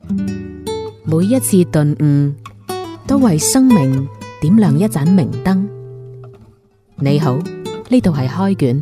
每一次頓悟，都為生命點亮一盞明燈。你好，呢度係開卷。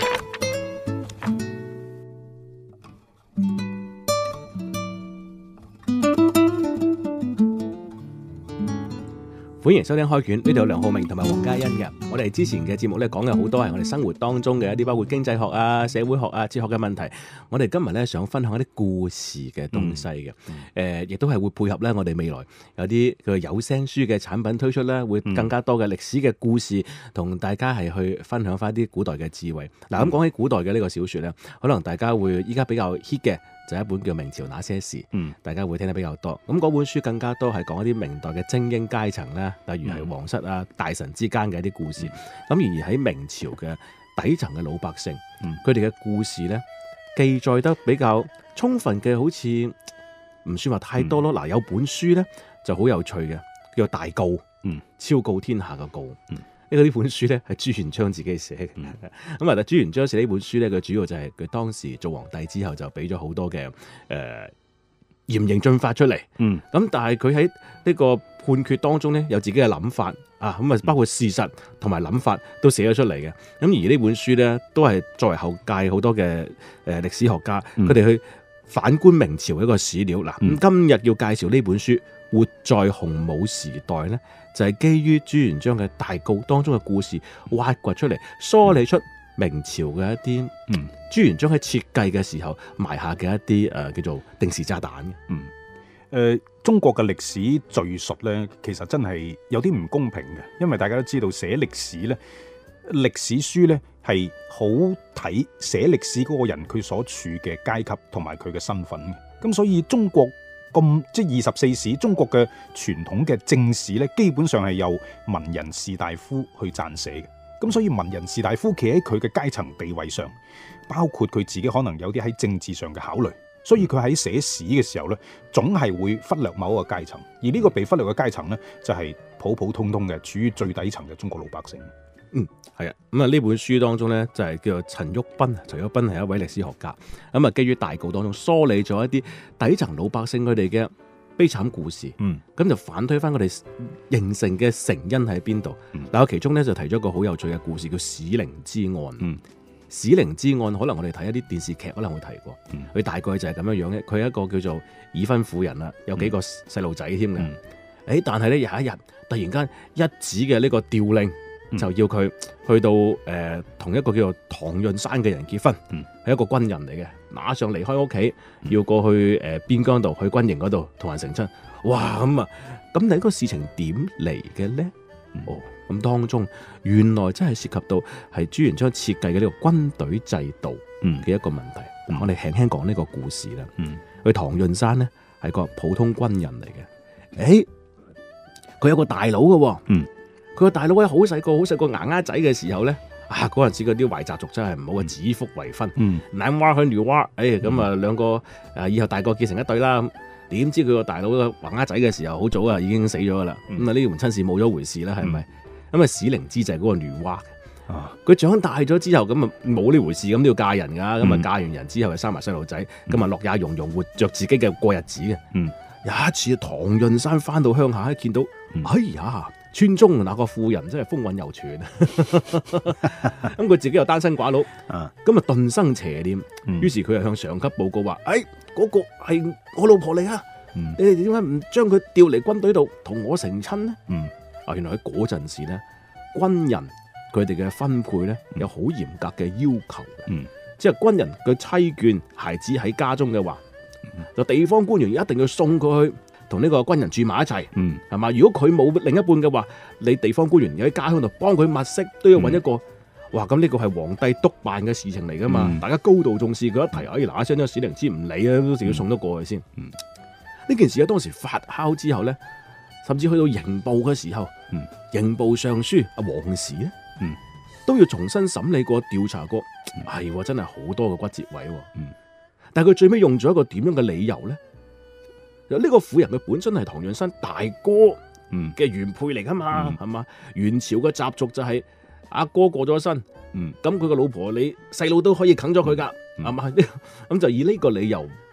歡迎收聽開卷，呢度有梁浩明同埋黃嘉欣嘅。我哋之前嘅節目咧講嘅好多係我哋生活當中嘅一啲包括經濟學啊、社會學啊、哲學嘅問題。我哋今日咧想分享一啲故事嘅東西嘅，亦都係會配合咧我哋未來有啲佢有聲書嘅產品推出咧，會更加多嘅歷史嘅故事同大家係去分享翻啲古代嘅智慧。嗱，咁講起古代嘅呢個小說咧，可能大家會依家比較 hit 嘅。就一本叫《明朝那些事》，大家會聽得比較多。咁嗰本書更加多係講一啲明代嘅精英階層啦，例如係皇室啊、大臣之間嘅一啲故事。咁而喺明朝嘅底層嘅老百姓，佢哋嘅故事咧記載得比較充分嘅，好似唔算話太多咯。嗱，有本書咧就好有趣嘅，叫做《大誥》，昭告天下嘅誥。呢本書咧係朱元璋自己寫嘅，咁啊，朱元璋寫呢本書咧，佢主要就係佢當時做皇帝之後就俾咗好多嘅嚴刑峻法出嚟，咁但係佢喺呢個判決當中咧有自己嘅諗法啊，咁啊包括事實同埋諗法都寫咗出嚟嘅，咁而呢本書咧都係作為後屆好多嘅歷史學家，佢哋去反觀明朝一個史料嗱，咁今日要介紹呢本書《活在洪武時代》咧。就係基於朱元璋嘅大誥當中嘅故事挖掘出嚟，梳理出明朝嘅一啲朱元璋喺設計嘅時候埋下嘅一啲叫做定時炸彈嘅。 中國嘅歷史敘述咧，其實真係有啲唔公平嘅，因為大家都知道寫歷史咧，歷史書咧係好睇寫歷史嗰個人佢所處嘅階級同埋佢嘅身份嘅，咁所以中國。即係24史，中國嘅傳統嘅正史咧，基本上係由文人士大夫去撰寫嘅。咁所以文人士大夫企喺佢嘅階層地位上，包括佢自己可能有啲喺政治上嘅考慮，所以佢喺寫史嘅時候咧，總係會忽略某一個階層。而呢個被忽略嘅階層咧，就係普普通通嘅處於最底層嘅中國老百姓。 係啊，咁啊呢本書當中咧就係叫做陳旭斌，陳旭斌係一位歷史學家，咁啊基於大誥當中梳理咗一啲底層老百姓佢哋嘅悲慘故事，咁就反推翻佢哋形成嘅成因喺邊度。嗱，我其中咧就提咗一個好有趣嘅故事，叫史靈之案。史靈之案可能我哋睇一啲電視劇可能會提過，佢大概就係咁樣樣嘅。佢係一個叫做已婚婦人啦，有幾個細路仔添嘅。但係咧有一日突然間一紙嘅呢個調令。就要佢去到同一個叫做唐潤山嘅人結婚，係一個軍人嚟嘅，馬上離開屋企，要過去邊疆度去軍營嗰度同人成親。哇，咁你呢個事情點嚟嘅咧？咁當中原來真係涉及到係朱元璋設計嘅呢個軍隊制度嘅一個問題。我哋輕輕講呢個故事啦。佢唐潤山咧係個普通軍人嚟嘅，佢有個大佬嘅。佢個大佬咧好細個牙牙仔嘅時候咧，嗰陣時嗰啲壞習俗真係唔好啊，指腹為婚，男娃去女娃，咁啊兩個以後大個結成一對啦。點知佢個大佬個牙牙仔嘅時候好早啊已經死咗噶啦，咁啊呢門親事冇咗回事啦，係咪？咁啊史靈之就係嗰個女娃，佢長大咗之後咁啊冇呢回事，咁都要嫁人噶，咁啊嫁完人之後就生埋細路仔，咁啊樂也融融活着自己嘅過日子嘅。有一次唐潤山翻到鄉下，見到哎呀！村中那個婦人真係風韻猶存，咁佢自己又單身寡佬，咁啊頓生邪念，於是佢就向上級報告話：嗰個係我老婆嚟啊！你哋點解唔將佢調嚟軍隊度同我成親呢？原來喺嗰陣時咧，軍人佢哋嘅分配咧有好嚴格嘅要求嘅，即係軍人嘅妻眷孩子喺家中嘅話，就地方官員一定要送佢去。同呢個軍人住埋一齊，係嘛？如果佢冇另一半嘅話，你地方官員喺家鄉度幫佢物色，都要揾一個。哇！咁呢個係皇帝督辦嘅事情嚟噶嘛？大家高度重視，佢一提，嗱一聲呢個史靈之唔理啊，都仲要送得過去先。呢件事喺當時發酵之後咧，甚至去到刑部嘅時候，刑部尚書阿王時咧，都要重新審理過、調查過，係真係好多個骨折位。但係佢最尾用咗一個點樣嘅理由咧？呢個婦人佢本身係唐潤山大哥嘅原配嚟噶嘛，係嘛？元朝嘅習俗就係阿哥過咗身，咁佢個老婆你細路都可以啃咗佢噶，係嘛？咁就以呢個理由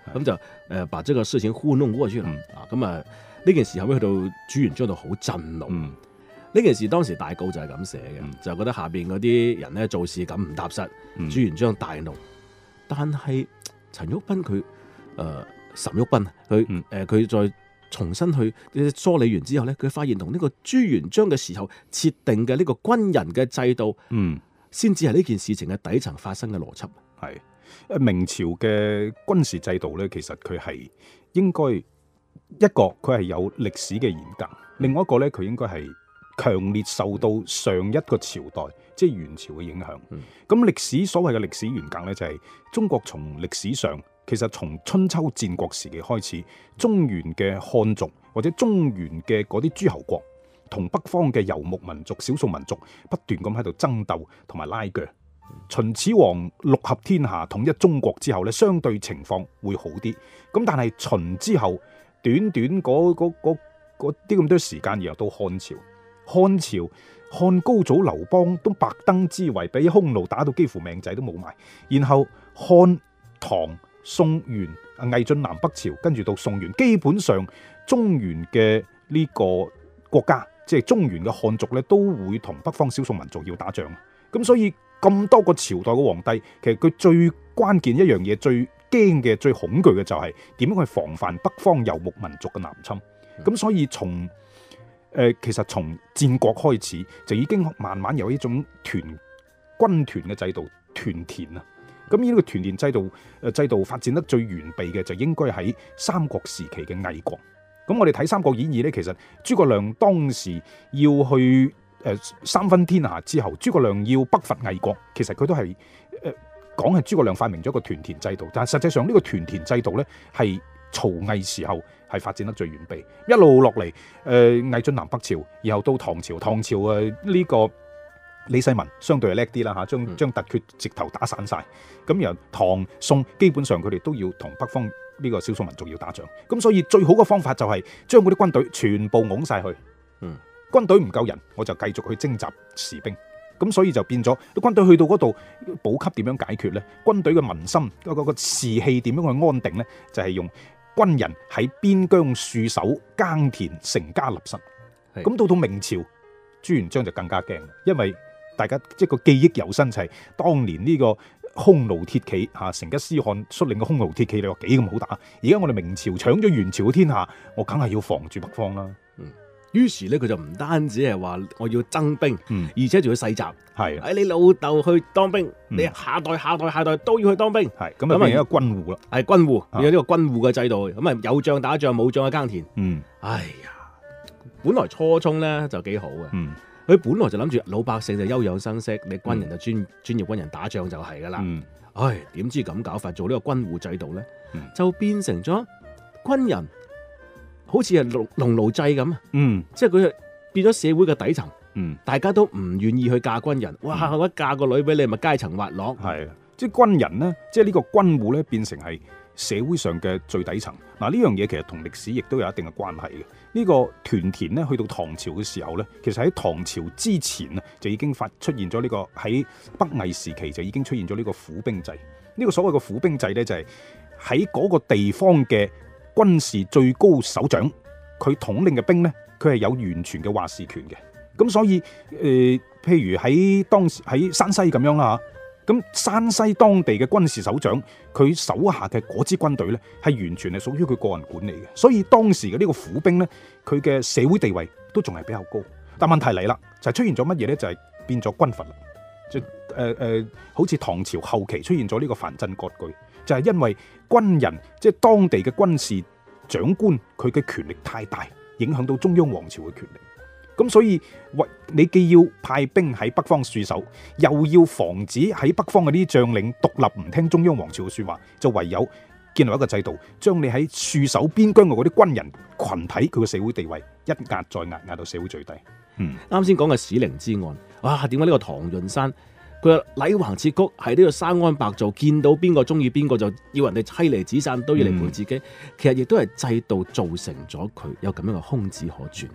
咁就把這個事情糊弄過去啦。咁啊呢件事後尾去到朱元璋度好震怒。呢件事當時大稿就係咁寫嘅，就覺得下邊嗰啲人咧做事咁唔踏實，朱元璋大怒。但係陳玉斌佢岑玉斌佢再重新去梳理完之後咧，佢發現同呢個朱元璋嘅時候設定嘅呢個軍人嘅制度，先至係呢件事情嘅底層發生嘅邏輯。 係明朝嘅軍事制度咧，其實佢係應該一個佢係有歷史嘅嚴格，另外一個咧佢應該係強烈受到上一個朝代即係元朝嘅影響。咁歷史所謂嘅歷史嚴格咧，就係中國從歷史上其實從春秋戰國時期開始，中原嘅漢族或者中原嘅嗰啲諸侯國同北方嘅游牧民族、少數民族不斷咁喺度爭鬥同埋拉鋸。秦始皇六合天下統一中國之後咧，相對情況會好啲。咁但係秦之後短嗰啲咁多時間，然後到漢朝，漢高祖劉邦都百登之圍，俾匈奴打到幾乎命仔都冇埋。然後漢唐宋元魏晉南北朝，跟住到宋元，基本上中原嘅呢個國家，即係中原嘅漢族咧，都會同北方少數民族要打仗。咁所以咁多個朝代嘅皇帝，其實佢最關鍵一樣嘢、最驚嘅、最恐懼嘅就係點樣去防範北方游牧民族嘅南侵。咁所以其實從戰國開始就已經慢慢有一種軍團嘅制度，團田啊。咁呢個團田制度發展得最完備嘅就應該喺三國時期嘅魏國。咁我哋睇《三國演義》咧，其實諸葛亮當時要去三分天下之後，諸葛亮要北伐魏國，其實佢都係講係諸葛亮發明咗一個團田制度，但係實際上呢個團田制度咧係曹魏時候係發展得最完備，一路落嚟魏晉南北朝，然後到唐朝呢個李世民相對係叻啲啦嚇，將突厥直頭打散晒。咁然後唐宋基本上佢哋都要同北方呢個少數民族要打仗，咁所以最好嘅方法就係將嗰啲軍隊全部拱晒去。軍隊唔夠人，我就繼續去徵集士兵。咁所以就變咗啲軍隊去到嗰度補給點樣解決呢？軍隊嘅民心個士氣點樣去安定呢？就係用軍人喺邊疆戍守耕田成家立室。咁到明朝朱元璋就更加驚，因為大家即係個記憶猶新，就係當年呢個匈奴鐵騎成吉思汗率領嘅匈奴鐵騎，你話幾咁好打？而家我哋明朝搶咗元朝嘅天下，我梗係要防住北方啦。 於是咧，佢就唔單止係話我要增兵，而且仲要世襲。係，你老豆去當兵，你下代都要去當兵。係咁啊，變成一個軍戶啦。係軍戶，有呢個軍戶嘅制度。咁啊，有仗打仗，冇仗嘅耕田。哎呀，本來初衷咧就幾好嘅。佢本來就諗住老百姓就休養生息，你軍人就專業軍人打仗就係噶啦。點知咁搞法，做呢個軍戶制度咧，就變成咗軍人。好似係農奴制咁，即係佢變咗社會嘅底層，大家都唔願意去嫁軍人。哇！我嫁個女俾你，咪階層滑落。係，即係軍人呢，即係呢個軍戶咧，變成係社會上嘅最底層。嗱，呢樣嘢其實同歷史亦都有一定嘅關係嘅。呢個團田呢，去到唐朝嘅時候咧，其實喺唐朝之前啊，就已經出現咗呢個喺北魏時期就已經出現咗呢個府兵制。呢個所謂嘅府兵制咧，就係喺嗰個地方嘅軍事最高首長，佢統領嘅兵呢，佢係有完全嘅話事權嘅。咁所以譬如喺當時喺山西咁樣啦，咁山西當地嘅軍事首長，佢手下嘅嗰支軍隊呢，係完全係屬於佢個人管理嘅。所以當時嘅呢個府兵呢，佢嘅社會地位都仲係比較高。但問題嚟啦，就係出現咗乜嘢呢？就係變咗軍閥啦。即好似唐朝後期出現咗呢個藩鎮割據。就係因為軍人即係當地嘅軍事長官，佢嘅權力太大，影響到中央皇朝嘅權力。咁所以你既要派兵喺北方戍守，又要防止喺北方嘅啲將領獨立唔聽中央皇朝嘅說話，就唯有建立一個制度，將你喺戍守邊疆嘅嗰啲軍人群體，佢嘅社會地位一壓再壓，壓到社會最低。 啱先講嘅史靈之案，哇！點解呢個唐潤山？佢話禮橫切曲係呢個生安白造，見到邊個中意邊個就要人哋妻離子散，都要嚟陪自己。其實亦都係制度造成咗佢有咁樣嘅空子可轉。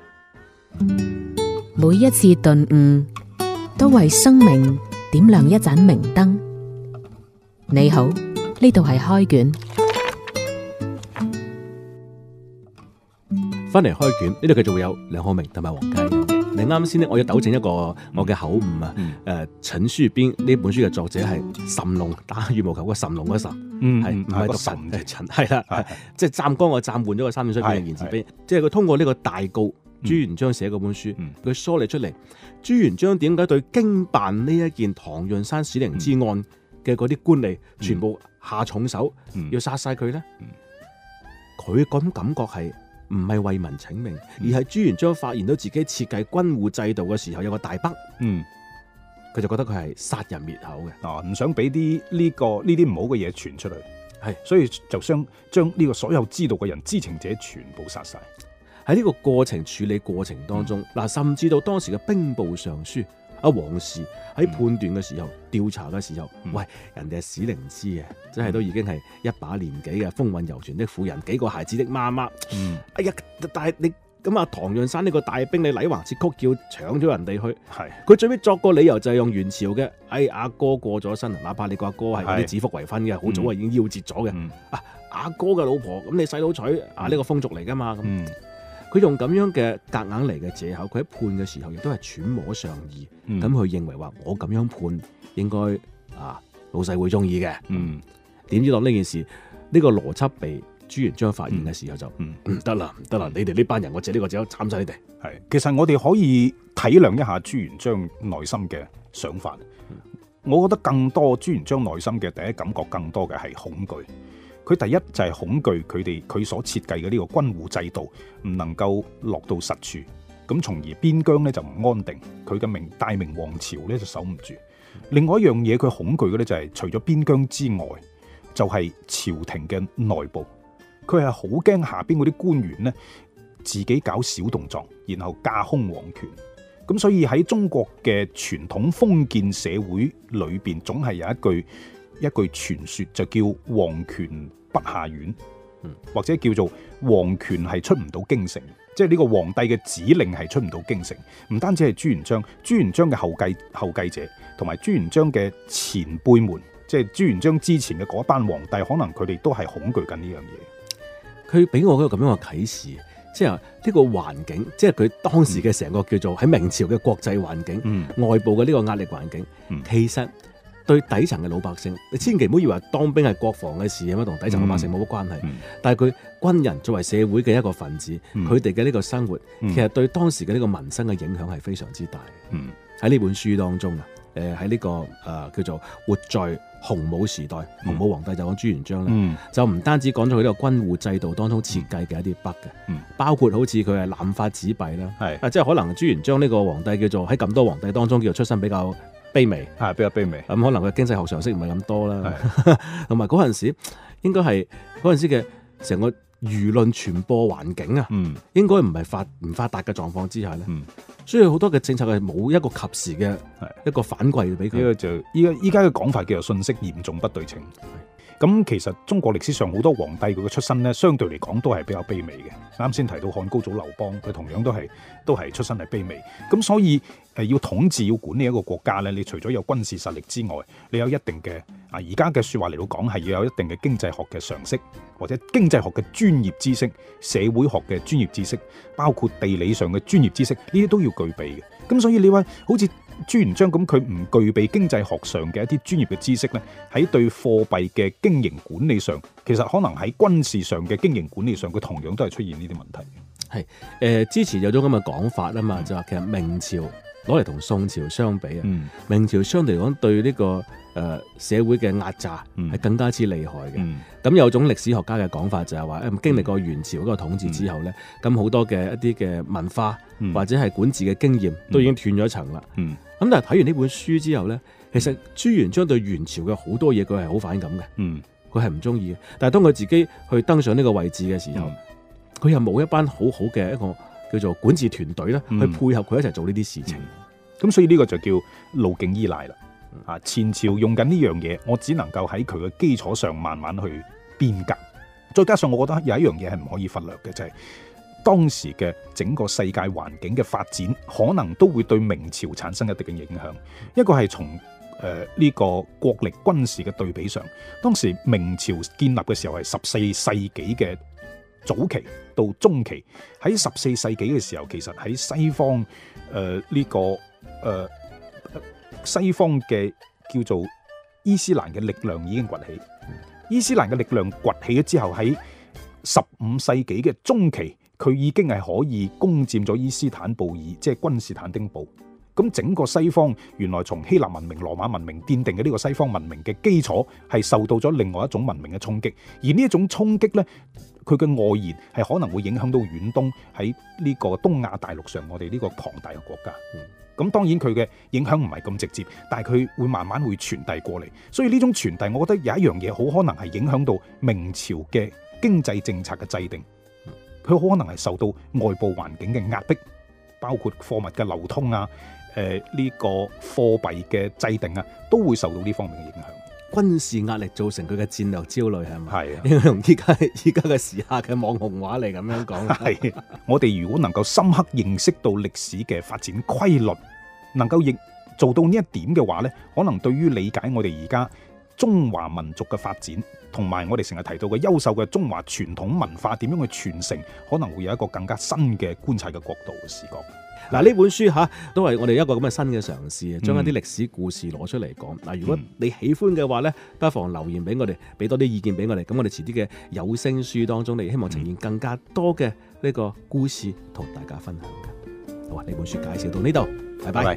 每一次頓悟都為生命點亮一盞明燈。你好，呢度係開卷。 翻嚟開卷呢度繼續會有梁浩明同埋黃嘉欣。你啱先咧，我要糾正一個我嘅口誤啊。陳樹邊呢本書嘅作者係諶龍，打羽毛球個諶龍嗰諶，係唔係讀神嘅陳？係啦，即係湛江個湛換咗個三點水變成言字邊，即係佢通過呢個大告朱元璋寫嗰本書，佢梳理出嚟朱元璋點解對經辦呢一件唐潤山史靈之案嘅嗰啲官吏全部下重手，要殺晒佢咧？佢嗰種感覺係唔係為民請命，而係朱元璋發現到自己設計軍戶制度嘅時候有個大北，佢就覺得佢係殺人滅口嘅， 唔想俾啲呢啲唔好嘅嘢傳出嚟， 係，所以就想將呢個所有知道嘅人、知情者全部殺晒。 喺呢個過程處理過程當中，甚至到當時嘅兵部尚書阿王氏喺判斷嘅時候、調查嘅時候，喂，人哋係史靈之嘅，即係都已經係一把年紀嘅風韻猶存的婦人，幾個孩子的媽媽。哎呀，但係你咁啊，唐潤山呢個大兵，你禮橫節曲叫搶咗人哋去，係佢最尾作個理由就係用元朝嘅，阿哥過咗身，哪怕你個阿哥係嗰啲指腹為婚嘅，好早已經夭折咗嘅，阿哥嘅老婆，咁你細佬娶呢個風俗嚟噶嘛咁。佢用咁樣嘅夾硬嚟嘅藉口，佢喺判嘅時候亦都係揣摩上意，咁佢認為話我咁樣判應該老細會中意嘅。點知當呢件事呢個邏輯被朱元璋發現嘅時候就唔得啦，你哋呢班人我借呢個借口斬晒你哋。 係，其實我哋可以體諒一下朱元璋內心嘅想法。我覺得更多朱元璋內心嘅第一感覺更多嘅係恐懼。佢第一就係恐懼佢所設計嘅呢個軍戶制度唔能夠落到實處，咁從而邊疆咧就唔安定，佢嘅大明王朝咧就守唔住。另外一樣嘢佢恐懼嘅咧就係除咗邊疆之外，就係朝廷嘅內部，佢係好驚下邊嗰啲官員咧自己搞小動作，然後架空皇權。咁所以喺中國嘅傳統封建社會裏邊，總係有一句傳說就叫皇權不下院，或者叫做皇權係出唔到京城，即係呢個皇帝嘅指令係出唔到京城。唔單止係朱元璋嘅後繼者，同埋朱元璋嘅前輩們，即係朱元璋之前嘅嗰班皇帝，可能佢哋都係恐懼緊呢樣嘢。 佢俾我一個咁樣嘅啟示，即係呢個環境，即係佢當時嘅成個叫做喺明朝嘅國際環境，外部嘅呢個壓力環境，其實對底層嘅老百姓，你千祈唔好以為當兵係國防嘅事咁樣，同底層老百姓冇乜關係。但係佢軍人作為社會嘅一個分子，佢哋嘅呢個生活，其實對當時嘅呢個民生嘅影響係非常之大。喺呢本書當中喺呢個叫做活在洪武時代，洪武皇帝就講朱元璋啦，就唔單止講咗佢呢個軍戶制度當中設計嘅一啲 bug 嘅，包括好似佢係濫發紙幣啦，即係可能朱元璋呢個皇帝叫做喺咁多皇帝當中叫做出身比較卑微， 係比較卑微。 咁可能佢經濟學常識唔係咁多啦，同埋嗰陣時應該係嗰陣時嘅成個輿論傳播環境啊，應該唔係唔發達嘅狀況之下咧，所以好多嘅政策係冇一個及時嘅一個反饋俾佢。 呢個就依家嘅講法叫做信息嚴重不對稱。咁其實中國歷史上好多皇帝佢嘅出身咧，相對嚟講都係比較卑微嘅。啱先提到漢高祖劉邦，佢同樣都係出身係卑微。咁所以要統治要管理一個國家咧，你除咗有軍事實力之外，你有一定嘅而家嘅説話嚟到講係要有一定嘅經濟學嘅常識，或者經濟學嘅專業知識、社會學嘅專業知識，包括地理上嘅專業知識，呢啲都要具備嘅。咁所以你話好似朱元璋咁，佢唔具備經濟學上嘅一啲專業嘅知識咧，喺對貨幣嘅經營管理上，其實可能喺軍事上嘅經營管理上，佢同樣都係出現呢啲問題。 係之前有種咁嘅講法啊嘛，就話其實明朝攞嚟同宋朝相比啊，明朝相對嚟講對呢個社會嘅壓榨係更加之厲害嘅。咁有種歷史學家嘅講法就係話，經歷過元朝嗰個統治之後咧，咁好多嘅一啲嘅文化或者係管治嘅經驗都已經斷咗層啦。咁但係睇完呢本書之後咧，其實朱元璋對元朝嘅好多嘢佢係好反感嘅，佢係唔中意嘅。但係當佢自己去登上呢個位置嘅時候，佢又冇一班好好嘅一個叫做管治團隊咧，去配合佢一齊做呢啲事情。 咁所以呢個就叫路徑依賴啦。前朝用緊呢樣嘢，我只能夠喺佢嘅基礎上慢慢去變革。再加上我覺得有一樣嘢係唔可以忽略嘅，就係當時嘅整個世界環境嘅發展，可能都會對明朝產生一定嘅影響。一個係從呢個國力軍事嘅對比上，當時明朝建立嘅時候係14世紀嘅早期到中期，喺14世紀嘅時候，其實喺西方西方嘅叫做伊斯蘭嘅力量已經崛起。伊斯蘭嘅力量崛起咗之後，喺15世紀嘅中期，佢已經係可以攻佔咗伊斯坦布爾，即係君士坦丁堡。咁整個西方原來從希臘文明、羅馬文明奠定嘅呢個西方文明嘅基礎，係受到咗另外一種文明嘅衝擊。而呢一種衝擊呢，佢嘅外延係可能會影響到遠東喺呢個東亞大陸上我哋呢個龐大嘅國家。咁當然佢嘅影響唔係咁直接，但係佢會慢慢會傳遞過嚟。所以呢種傳遞，我覺得有一樣嘢好可能係影響到明朝嘅經濟政策嘅制定。佢好可能係受到外部環境嘅壓迫，包括貨物嘅流通啊。呢個貨幣嘅制定啊，都會受到呢方面嘅影響。 軍事壓力造成佢嘅戰略焦慮係咪？ 係啊， 用依家嘅時下嘅網紅話嚟咁樣講。 係我哋如果能夠深刻認識到歷史嘅發展規律，能夠亦做到呢一點嘅話呢，可能對於理解我哋而家中華民族嘅發展，同埋我哋成日提到嘅優秀嘅中華傳統文化點樣去傳承，可能會有一個更加新嘅觀察嘅角度嘅視角。 嗱，呢本書都係我哋一個咁嘅新嘅嘗試，將一啲歷史故事攞出嚟講。嗱，如果你喜歡嘅話呢，不妨留言俾我哋，俾多啲意見俾我哋。咁我哋遲啲嘅有聲書當中，你希望呈現更加多嘅呢個故事同大家分享嘅。好啊，呢本書介紹到呢度，拜拜。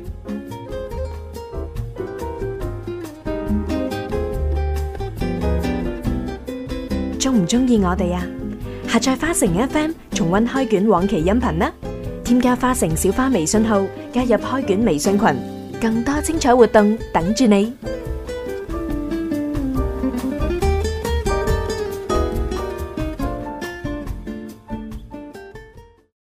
中唔中意我哋啊？下載花城 FM 重溫開卷往期音頻啦！添加花城小花微信號，加入開卷微信群，更多精彩活動等住你。